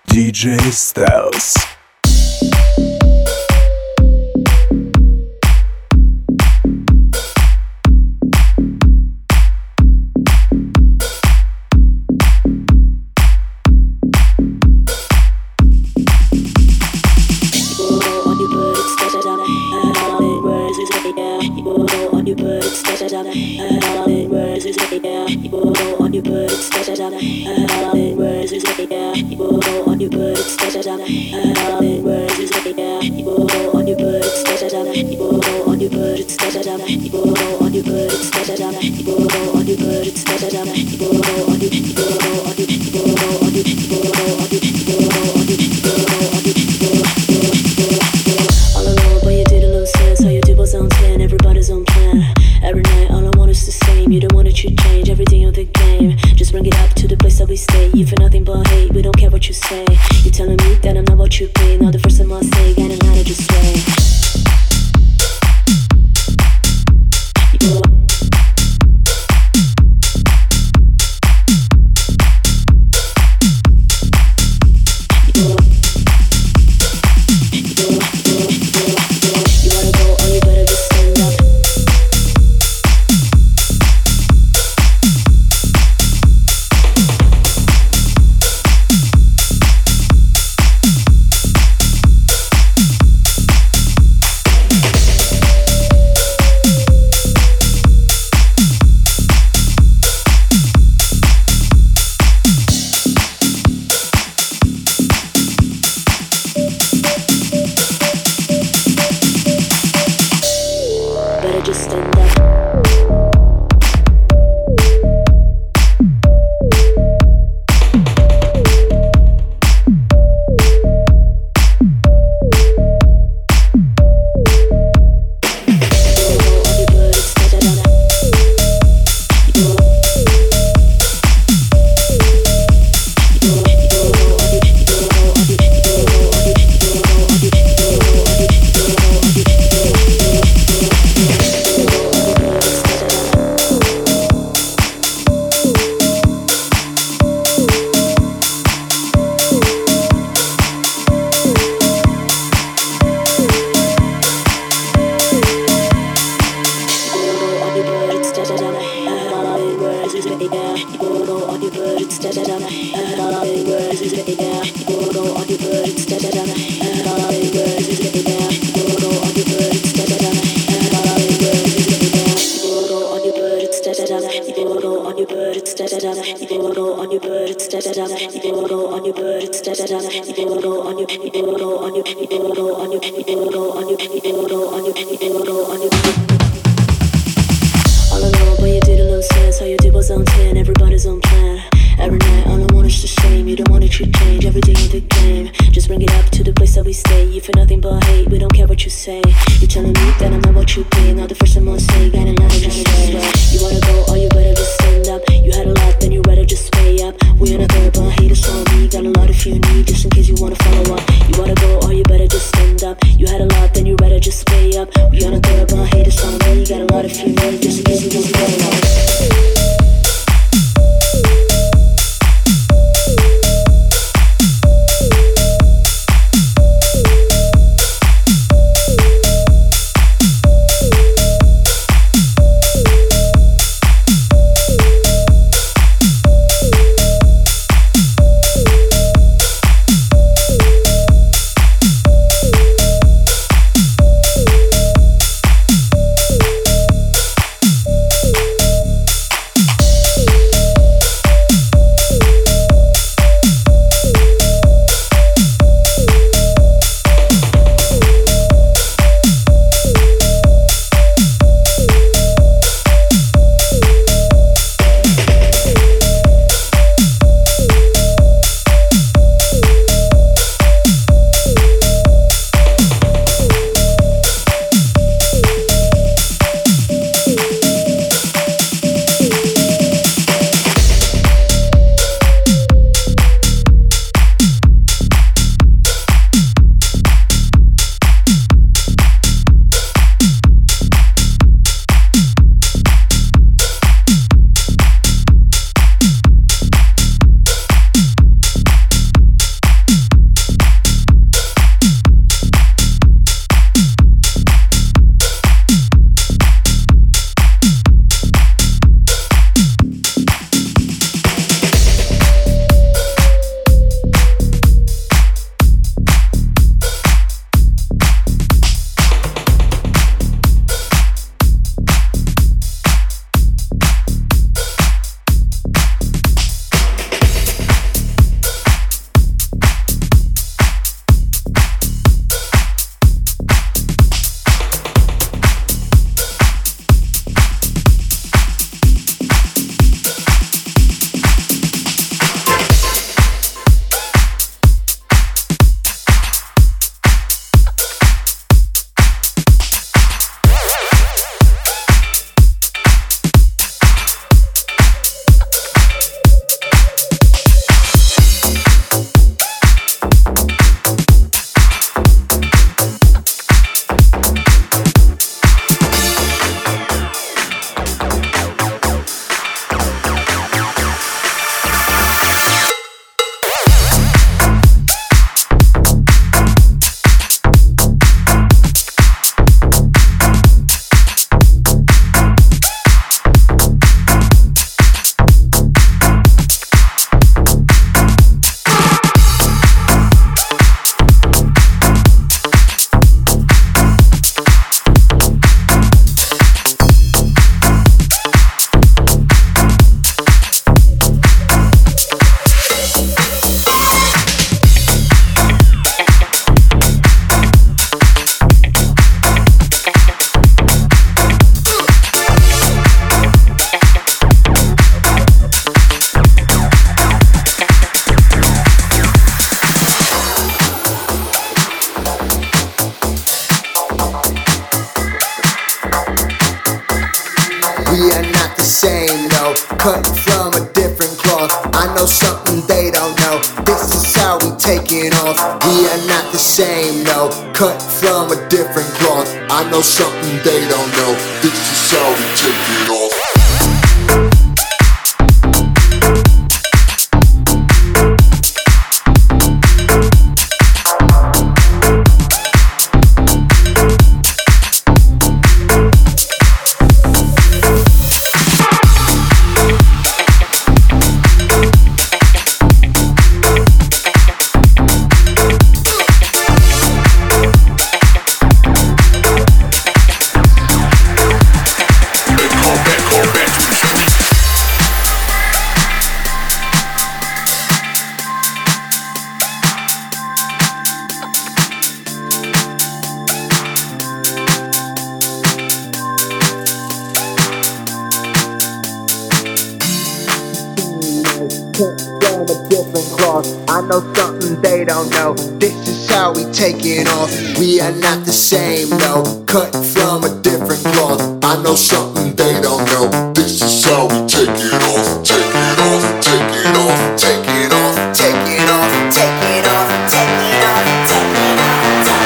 DJ Styles. know, cut from a different cloth. I know something they don't know. This is how we take it off. We are not the same, no. Cut from a different cloth. I know something they don't know. This is how we take it off. From a different cloth. I know something they don't know. This is how we take it off. We are not the same, no. Cut from a different cloth. I know something they don't know. This is how we take it off. Take it off, take it off, take it off, take it off, take it off, take it off, take it off, take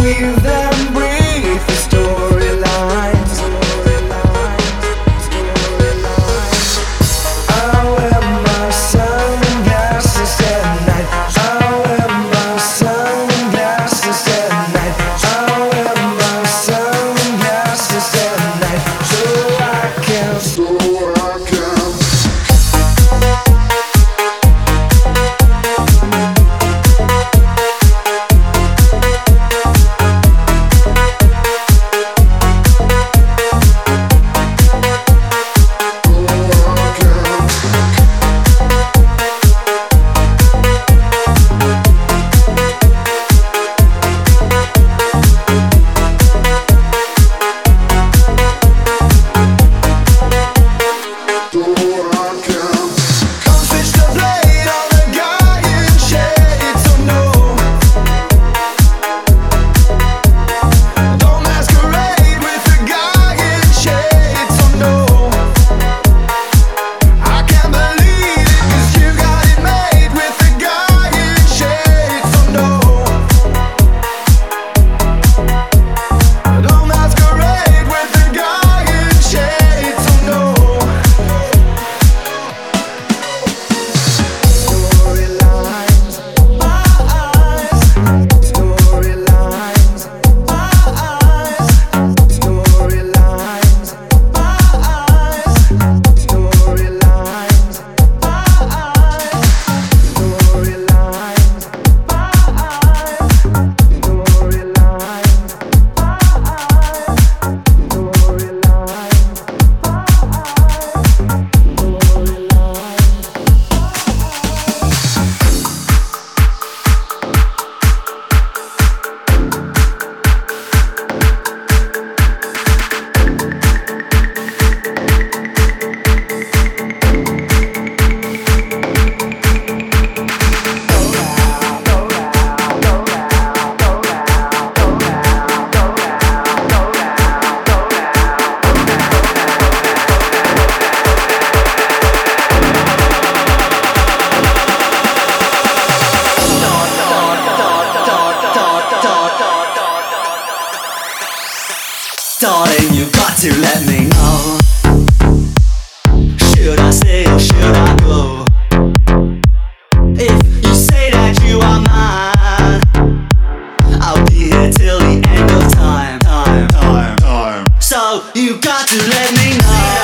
Weave them brief storylines. I wear my sunglasses at night. I wear my sunglasses at night. I wear my sunglasses at night, so I can. Darling, you got to let me know. Should I stay or should I go? If you say that you are mine, I'll be here till the end of time. So you got to let me know.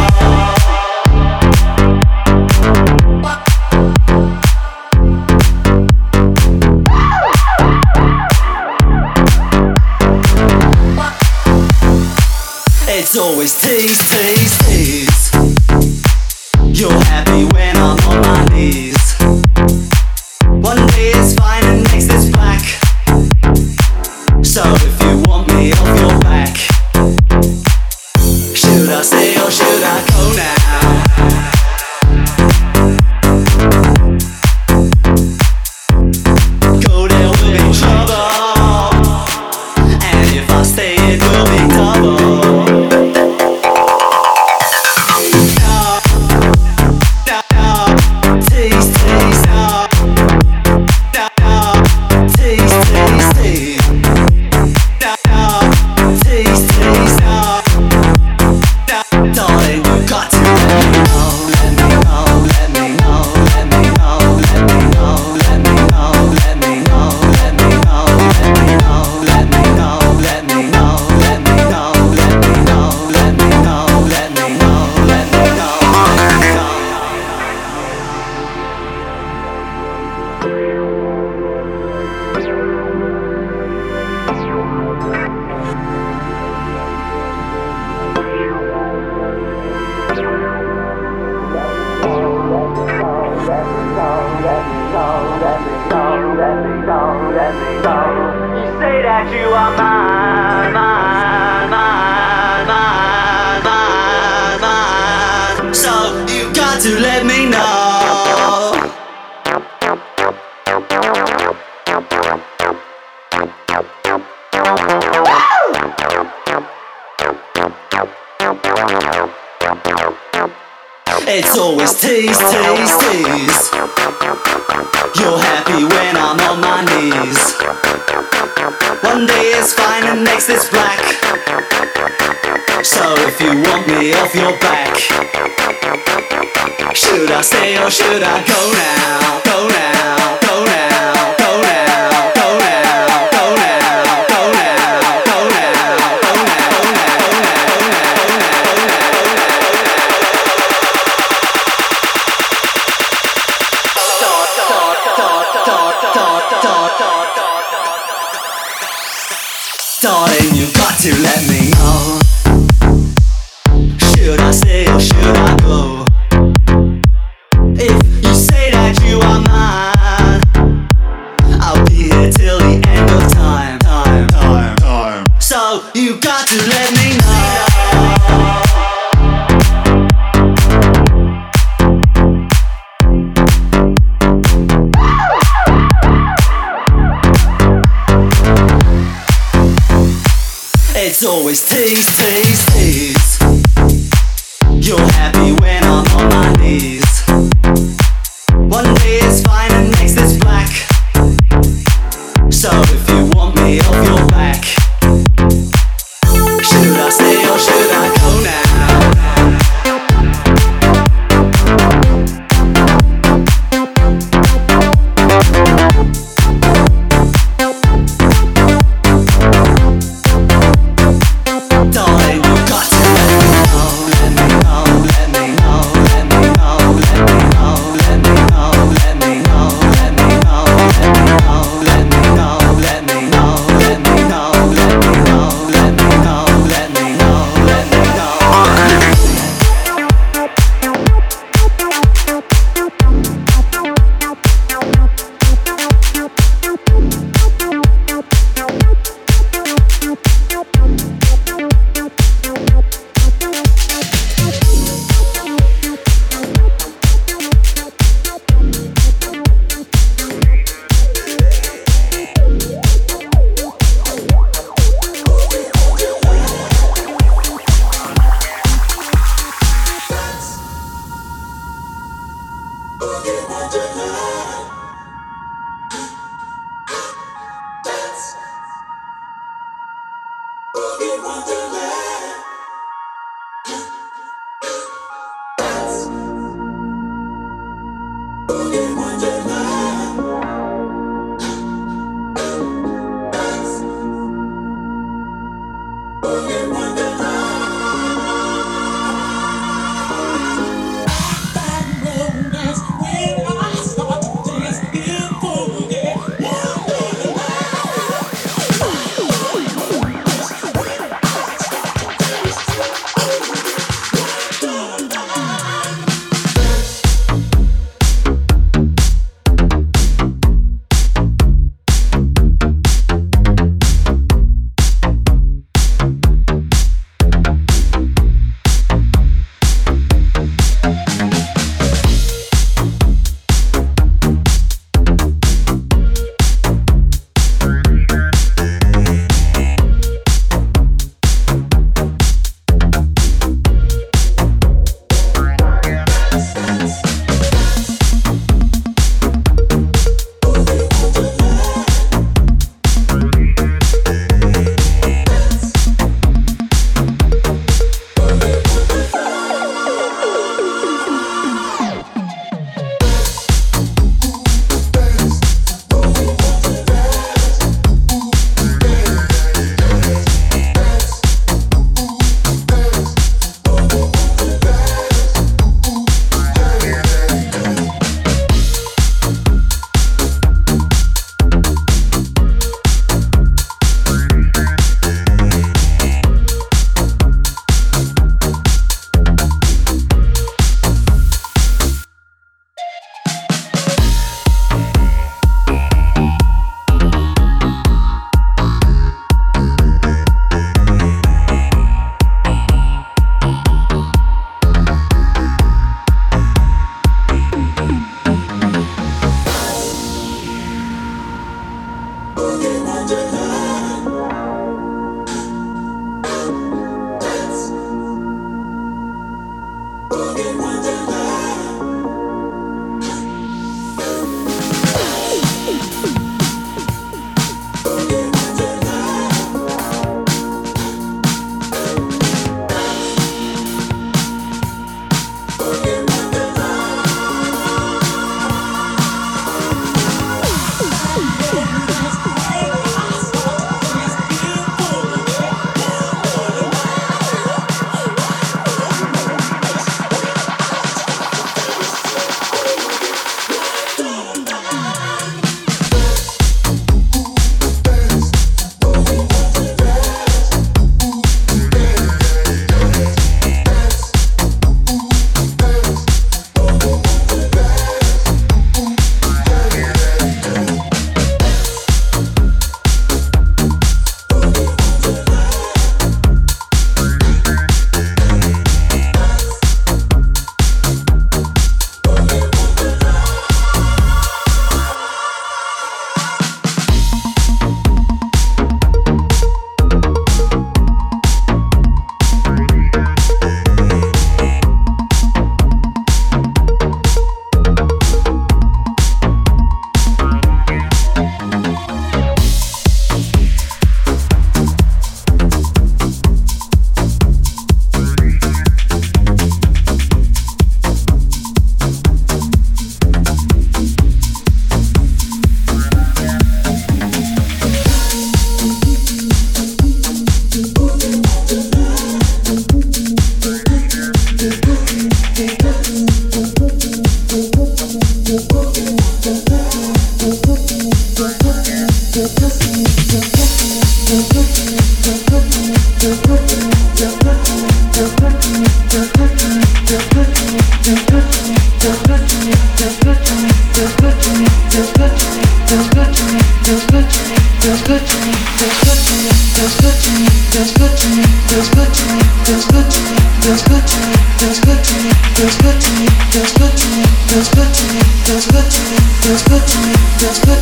It's always tease, tease, tease. You're happy when I'm on my knees. One day it's fine and next it's black. So if you want me off your back, should I stay or should I go now? Go there will be trouble, and if I stay it will be double. You say that you are mine, mine, mine, mine, mine, mine. So you got to let me know. It's always tease, tease, tease. You're happy when I'm on my knees. One day it's fine and next it's black. So if you want me off your back, should I stay or should I go now? Go now, go now, go now, go now, go now, go now, go now, go now. Darling, you got to let me know. Should I stay or should I go? If you say that you are mine, I'll be here till the end of time. So you got to let me know. It's always tease, tease, tease. You're happy when I'm on my knees. One day it's fine and next it's black. So if you want me off your back, should I stay or should I go now? Darling, you got to let me know, let me know, let me know, let me know, let me know, let me know, let me know, let me know, let me know, let me know, let me know, let me know, let me know, let me know, let me know, let me know.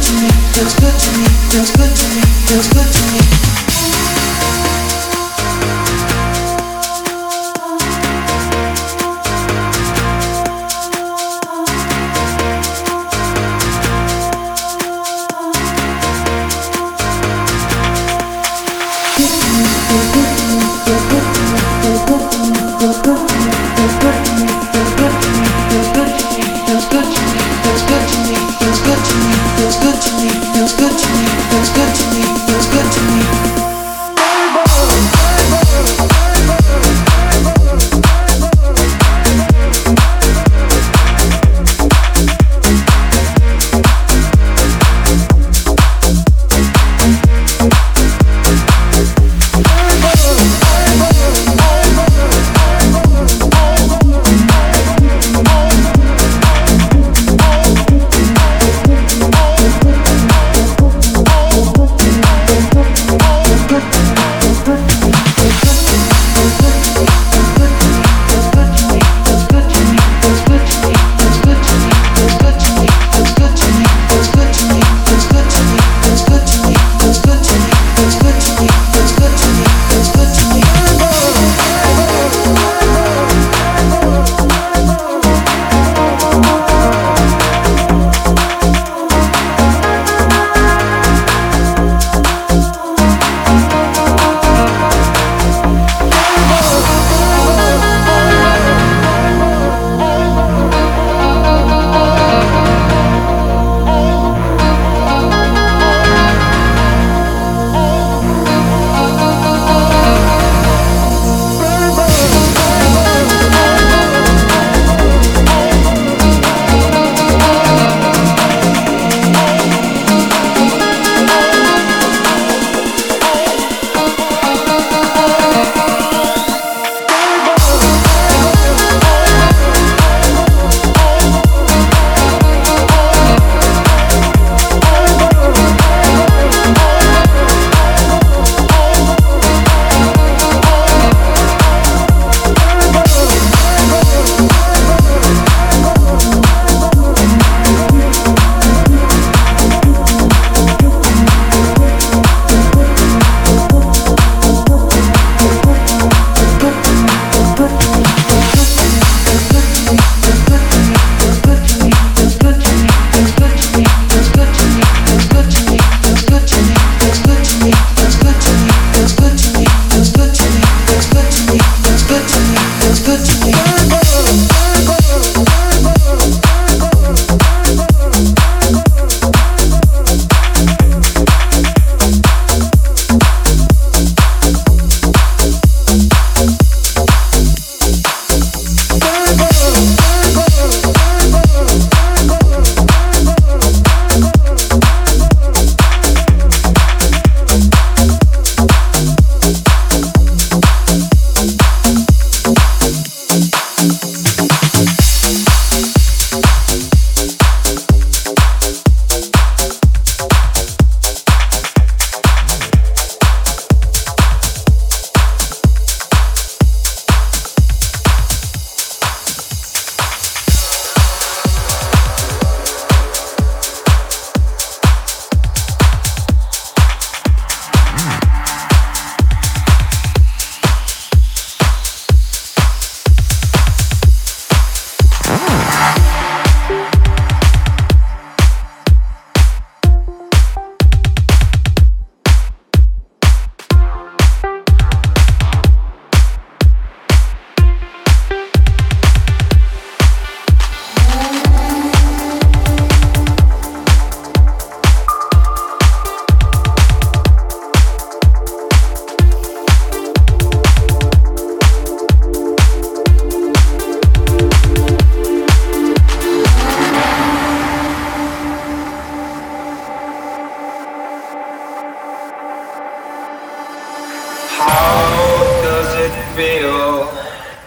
feel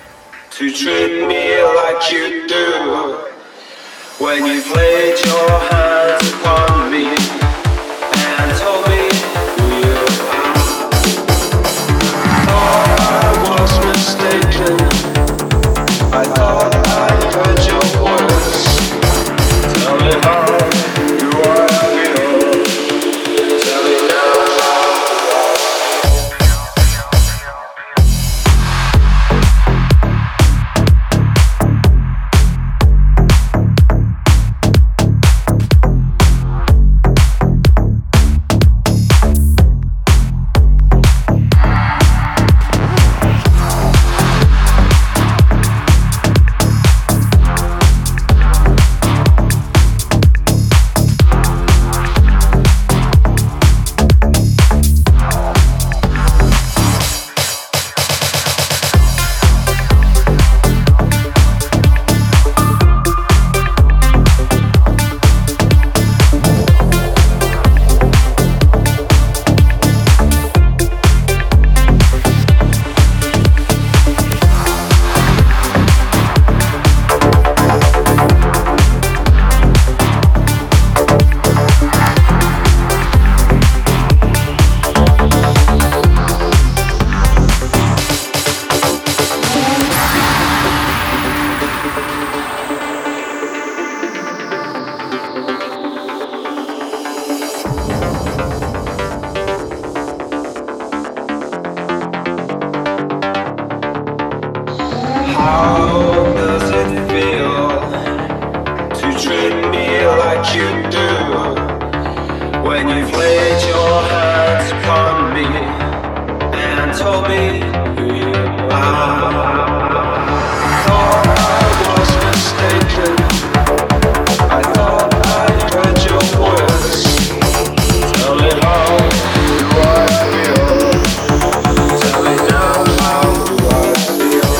to treat me like you do when you've laid your hands upon me and told me who you are. Thought I was mistaken. I thought I heard your words. Tell me how do I feel? you've laid your hands upon me and told me who you are. Thought I was mistaken. I thought I heard your words. Tell me how do I feel? Tell me now how do I feel?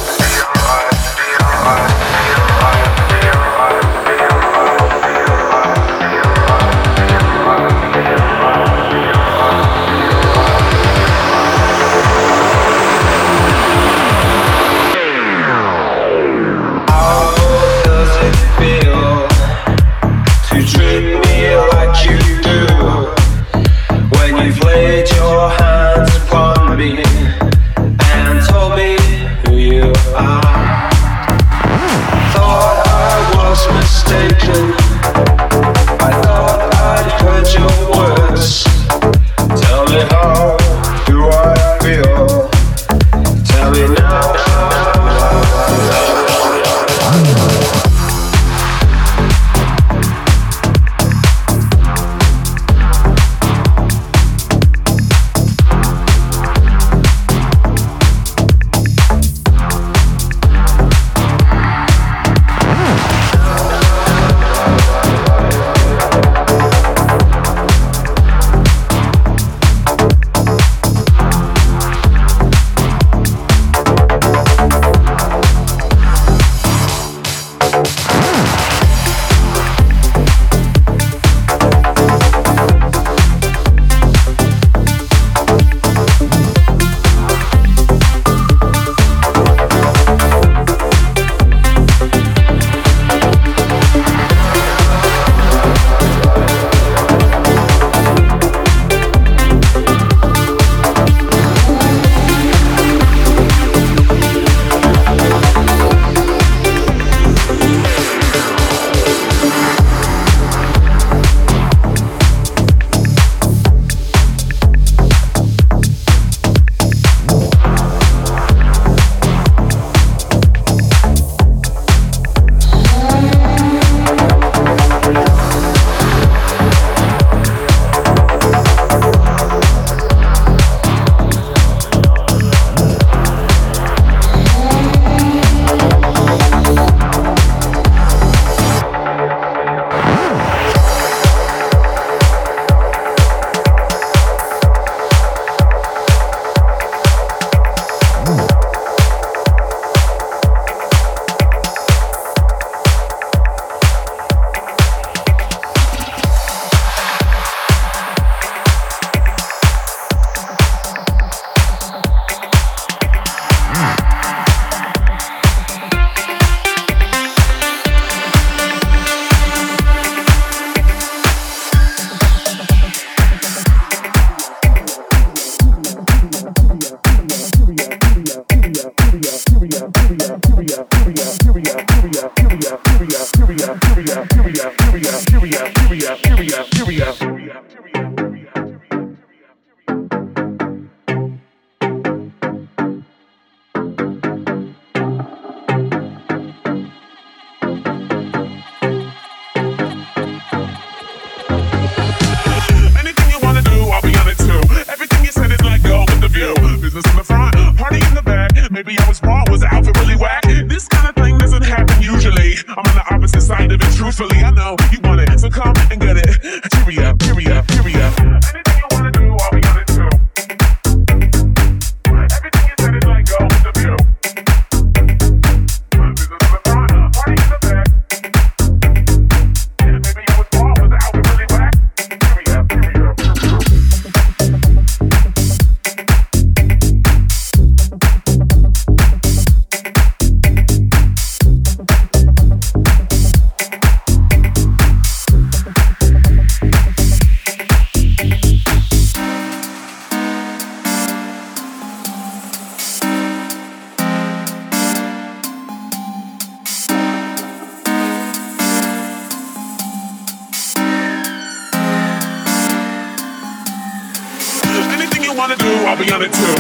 wanna do, I'll be on it too.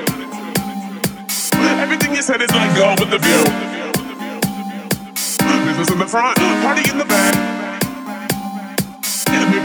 Everything you said is like go with the view. Business in the front, party in the back. Maybe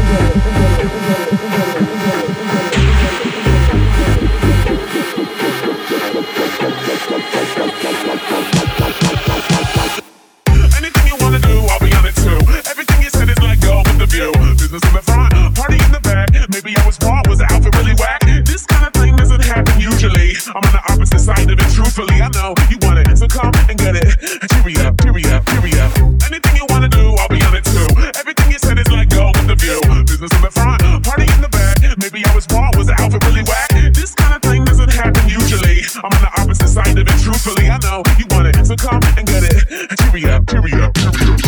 Anything you wanna do, I'll be on it too. Everything you said is let go with the view. Business in the front, party in the back. Maybe I was wrong, was the outfit really whack? This kind of thing doesn't happen usually. I'm on the opposite side of it, truthfully. I know you want it, so come and get it. Cheery up, cheery up, cheery up. Anything you wanna do, I'll be on it too. Everything you said is let go with the view. Business in the front, party in the back. Maybe I was wrong, was the outfit really whack? This kind of thing doesn't happen usually. I'm on the opposite side of it, truthfully. I know you want it, so come and get it. Cheery up, cheery up, cheery up.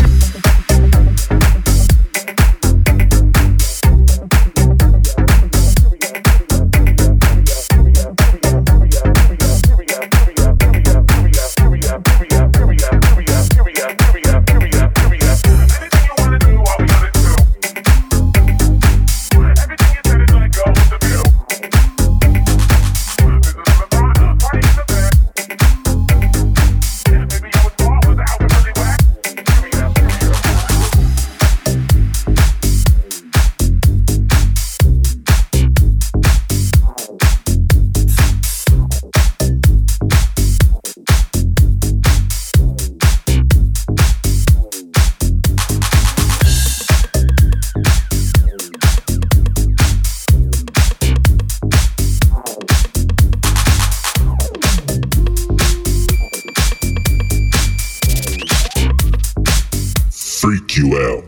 Freak you out.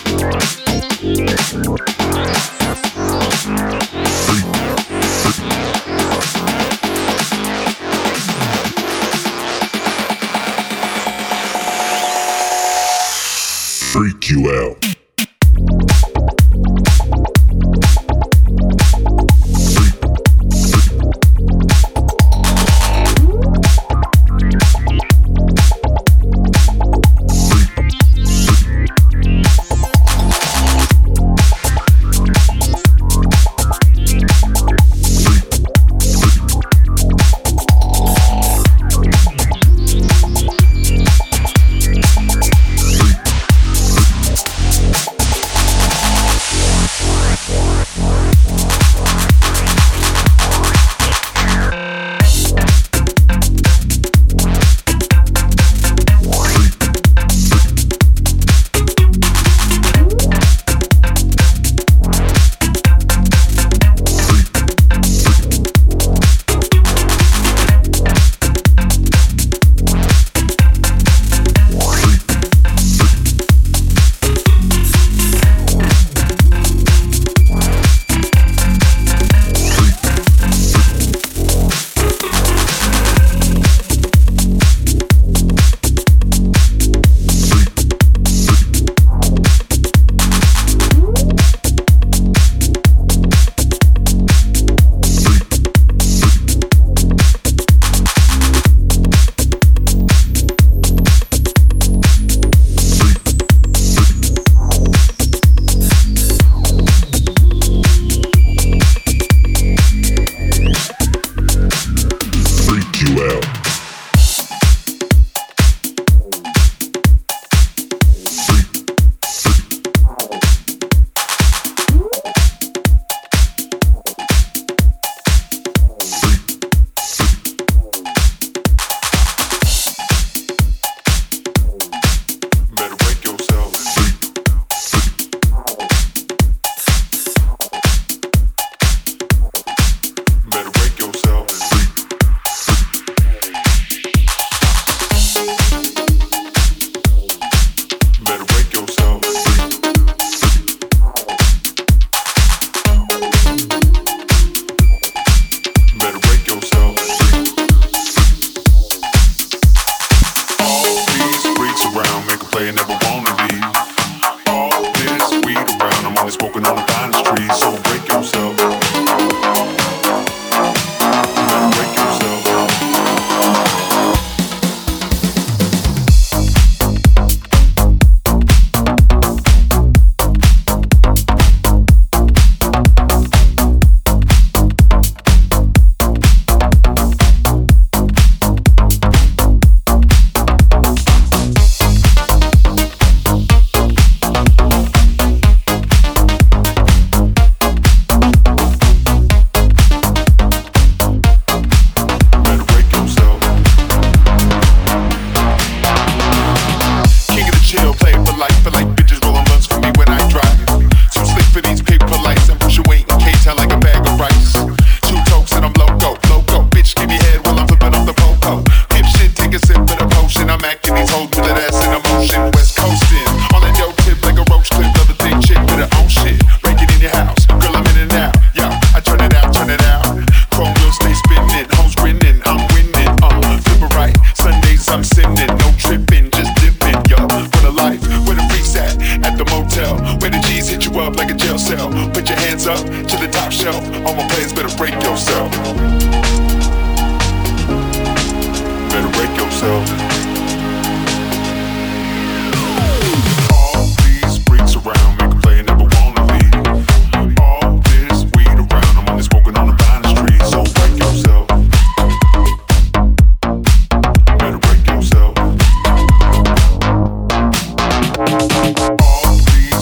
Freak you out.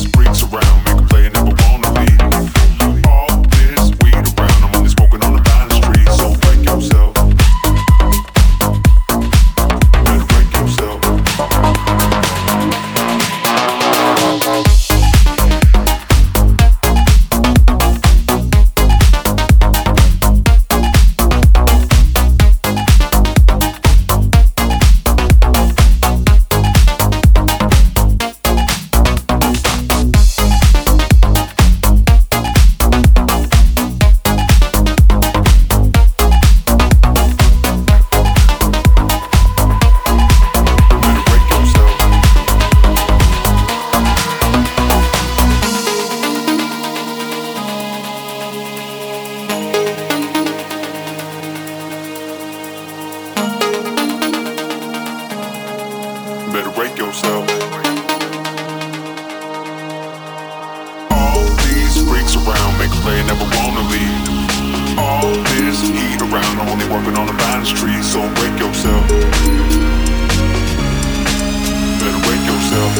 All this weed around, I'm only smoking on the vine. never wanna leave. All this heat around, I'm only working on the vine tree, so break yourself. Better break yourself.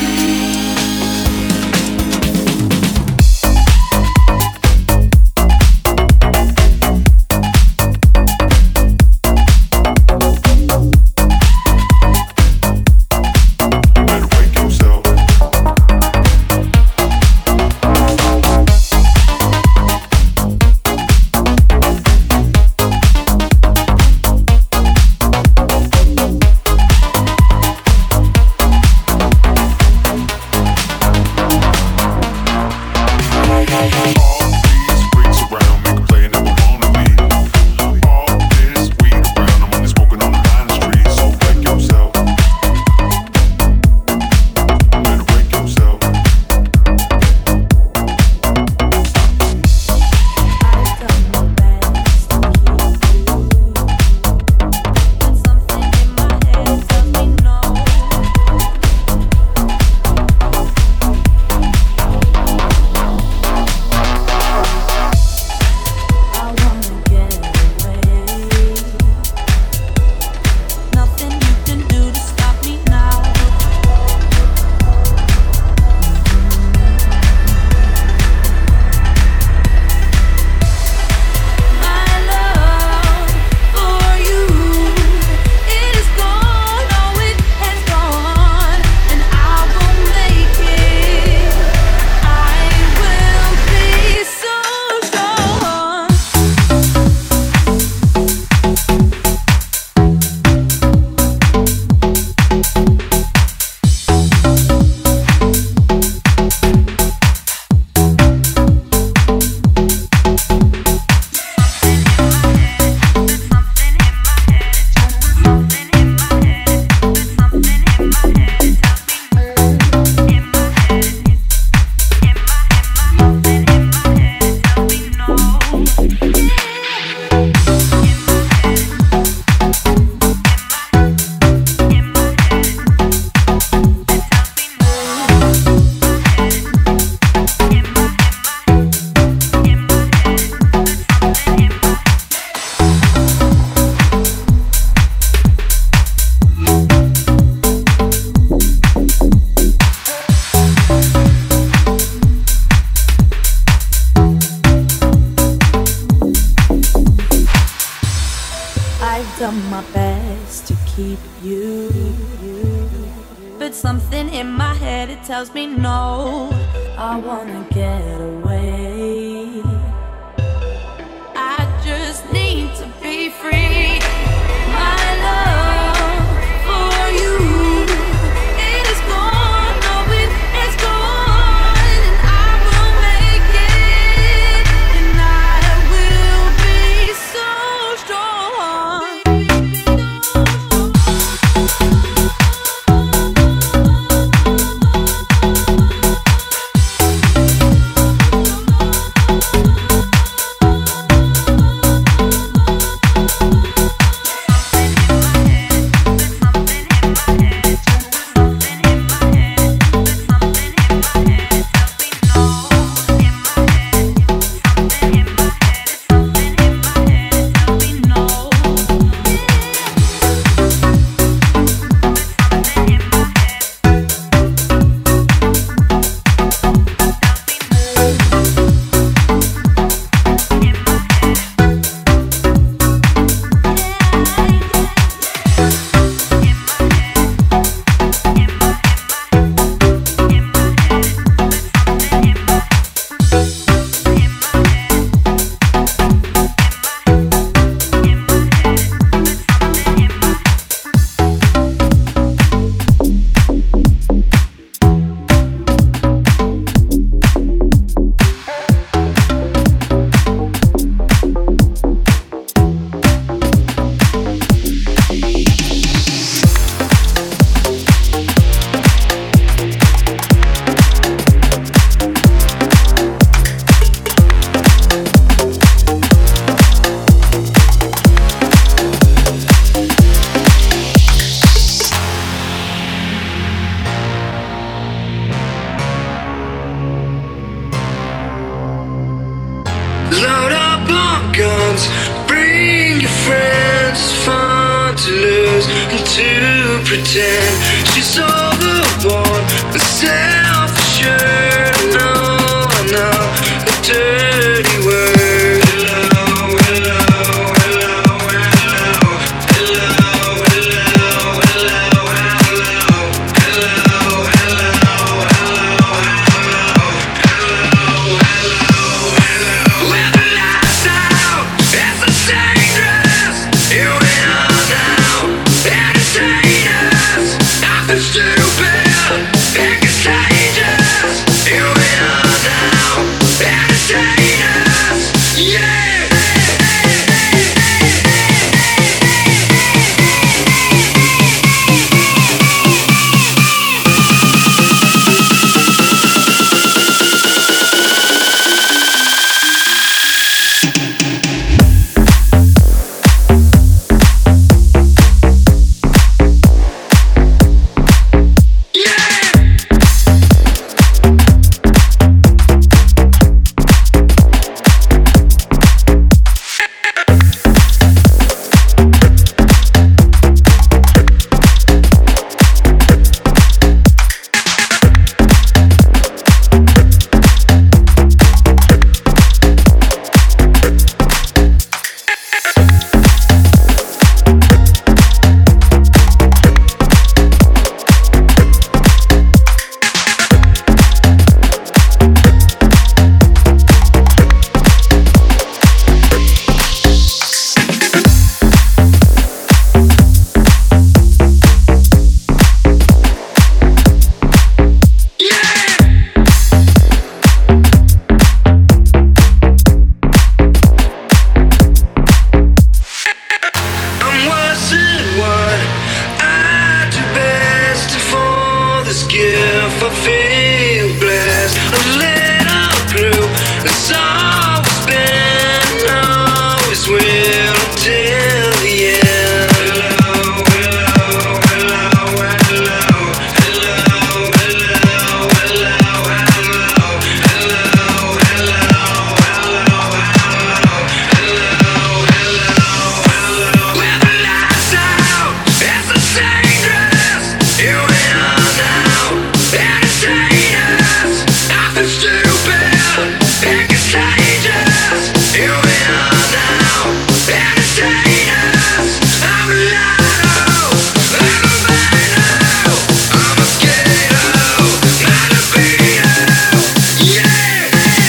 done my best to keep you, but something in my head, it tells me no. I wanna get away. I just need to be free. My love for you, it is gone, no, it is gone, and I will make it, and I will be so strong. Load up on guns, bring your friends. It's fun to lose and to pretend she's overboard and self-assured. No, I know the dirty word. Hello, hello, hello, hello, hello, hello, hello, hello, hello. When the lights out, it's so dangerous. Here we are now, entertain us. Nothing stupid, it contagious. Here we are now, entertain us. Yeah. I'm worse than what I do best for this gift. I feel blessed, a little blue. It's always been, always will until the end. Hello, hello, hello, hello, hello, hello, hello, when the lights out, it's so dangerous. Here we are now, entertain us. Nothing stupid, it contagious. Here we are now, entertain us. I'm a lotto, I'm a vinyl, I'm a skater, not a beater. Yeah.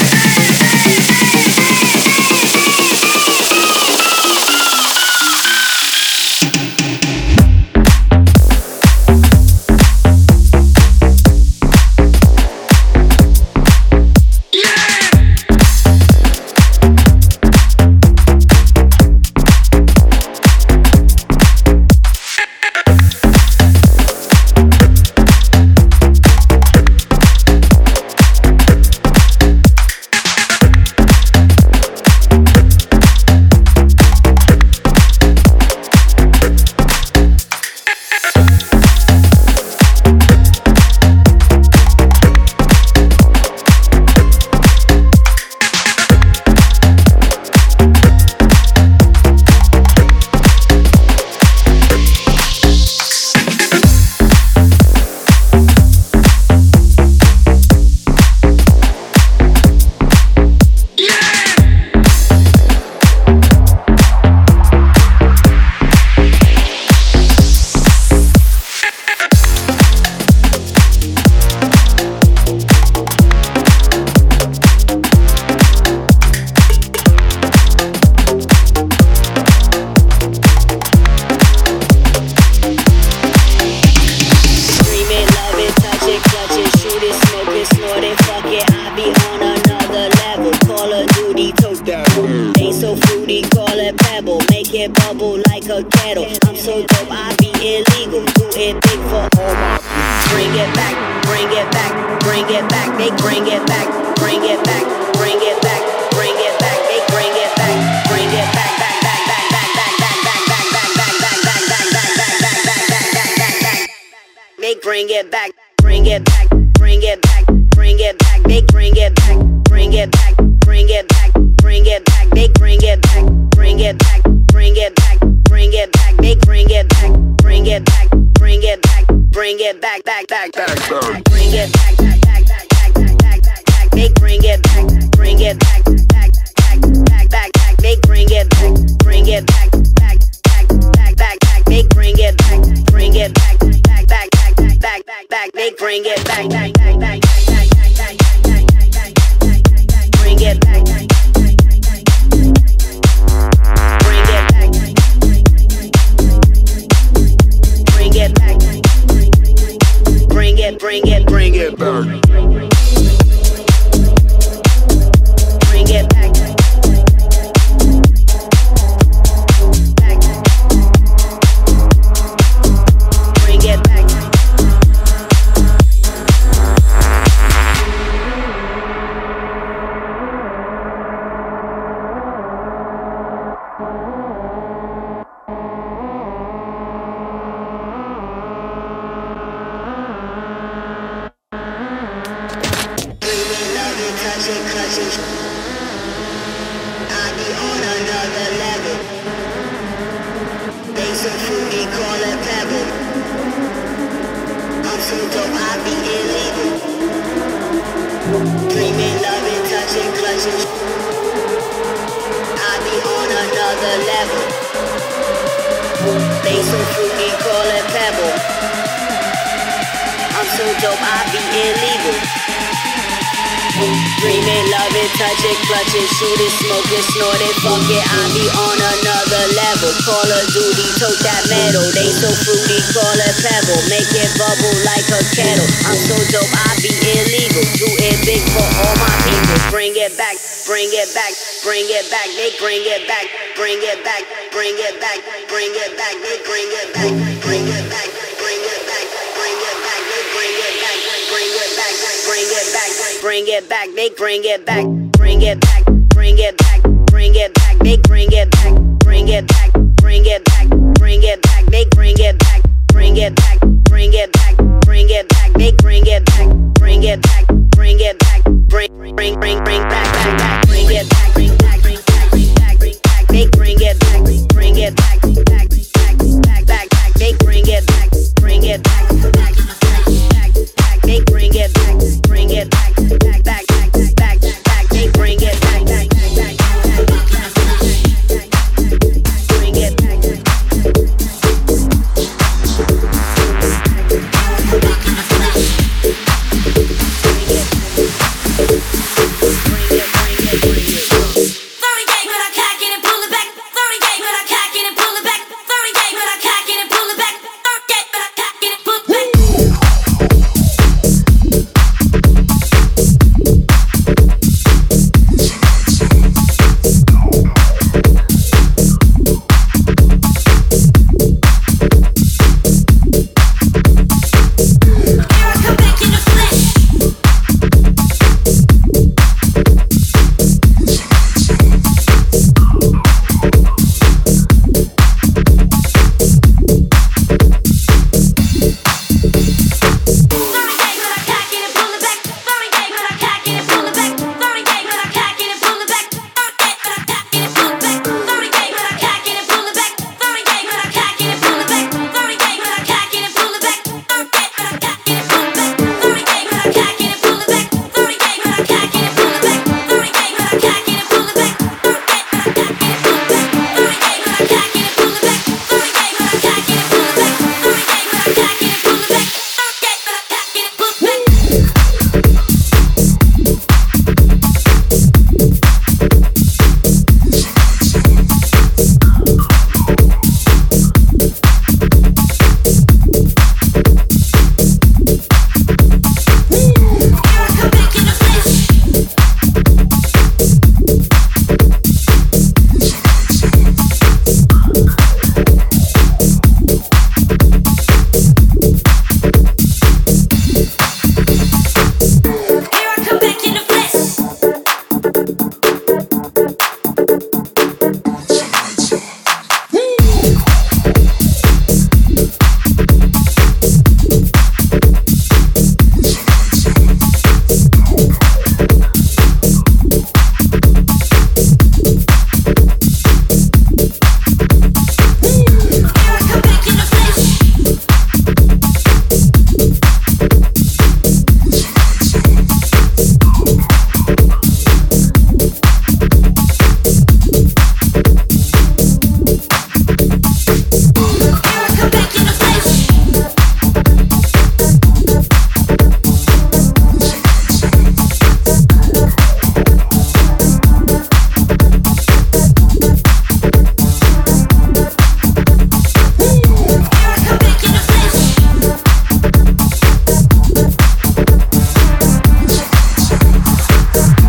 Dream it, love it, touch it, clutch it, shoot it, smoke it, snort it, fuck it. I be on another level. Call of Duty, toast that. Ain't so fruity, call it pebble. Make it bubble like a kettle. I'm so dope, I be illegal. Do it big for all my. Bring it back, bring it back, bring it back. They bring it back, bring it back, bring it back, bring it back. They bring it back, bring it back, back, back, back, back, back, back, back, back, back, back, back, back, back, back, back, back, back. They bring it back, bring it back, bring it back, bring it back. They bring it back, bring it back, bring it back, bring it it back, they bring it back, bring it back, bring it back, bring it back, they bring it back, bring it back, bring it back, bring it back, back, back, back, bring it back, back, back, back, back, back, back, back, they bring it back, bring it back, back, back, back, back, back, they bring it back, bring it back, back, back, back, back, back, they bring it back, bring it back, back, back, back, back, back, back, they bring it back, back, back, back, bring it back, bring it back, bring it back, bring it, bring it, bring it back, bring it back, back, bring it back. Clutch it, shoot it, smoke it, snort it, fuck it, I be on another level. Call of Duty, tote that metal. They so fruity, call it pebble. Make it bubble like a kettle. I'm so dope, I be illegal. Do it big for all my people. Bring it back, bring it back, bring it back. They bring it back, bring it back, bring it back, bring it back. They bring it back, bring it back, bring it back, bring it back. They bring it back, bring it back, bring it back, bring it back. They bring it back. Bring it back, bring it back, bring it back, they bring it back, bring it back, bring it back, bring it back, they bring it back, bring it back, bring it back, bring it back, they bring it back, bring it back, bring it back, bring back, back, back, bring it back, bring back, bring back, bring back, bring back, they bring it back, bring it back, back, back, back, back, they bring it back, bring it back, back, back, back, they bring it back, bring it back, back, back, back, back, they bring it back, back, back, bring it back. Bring it back. it.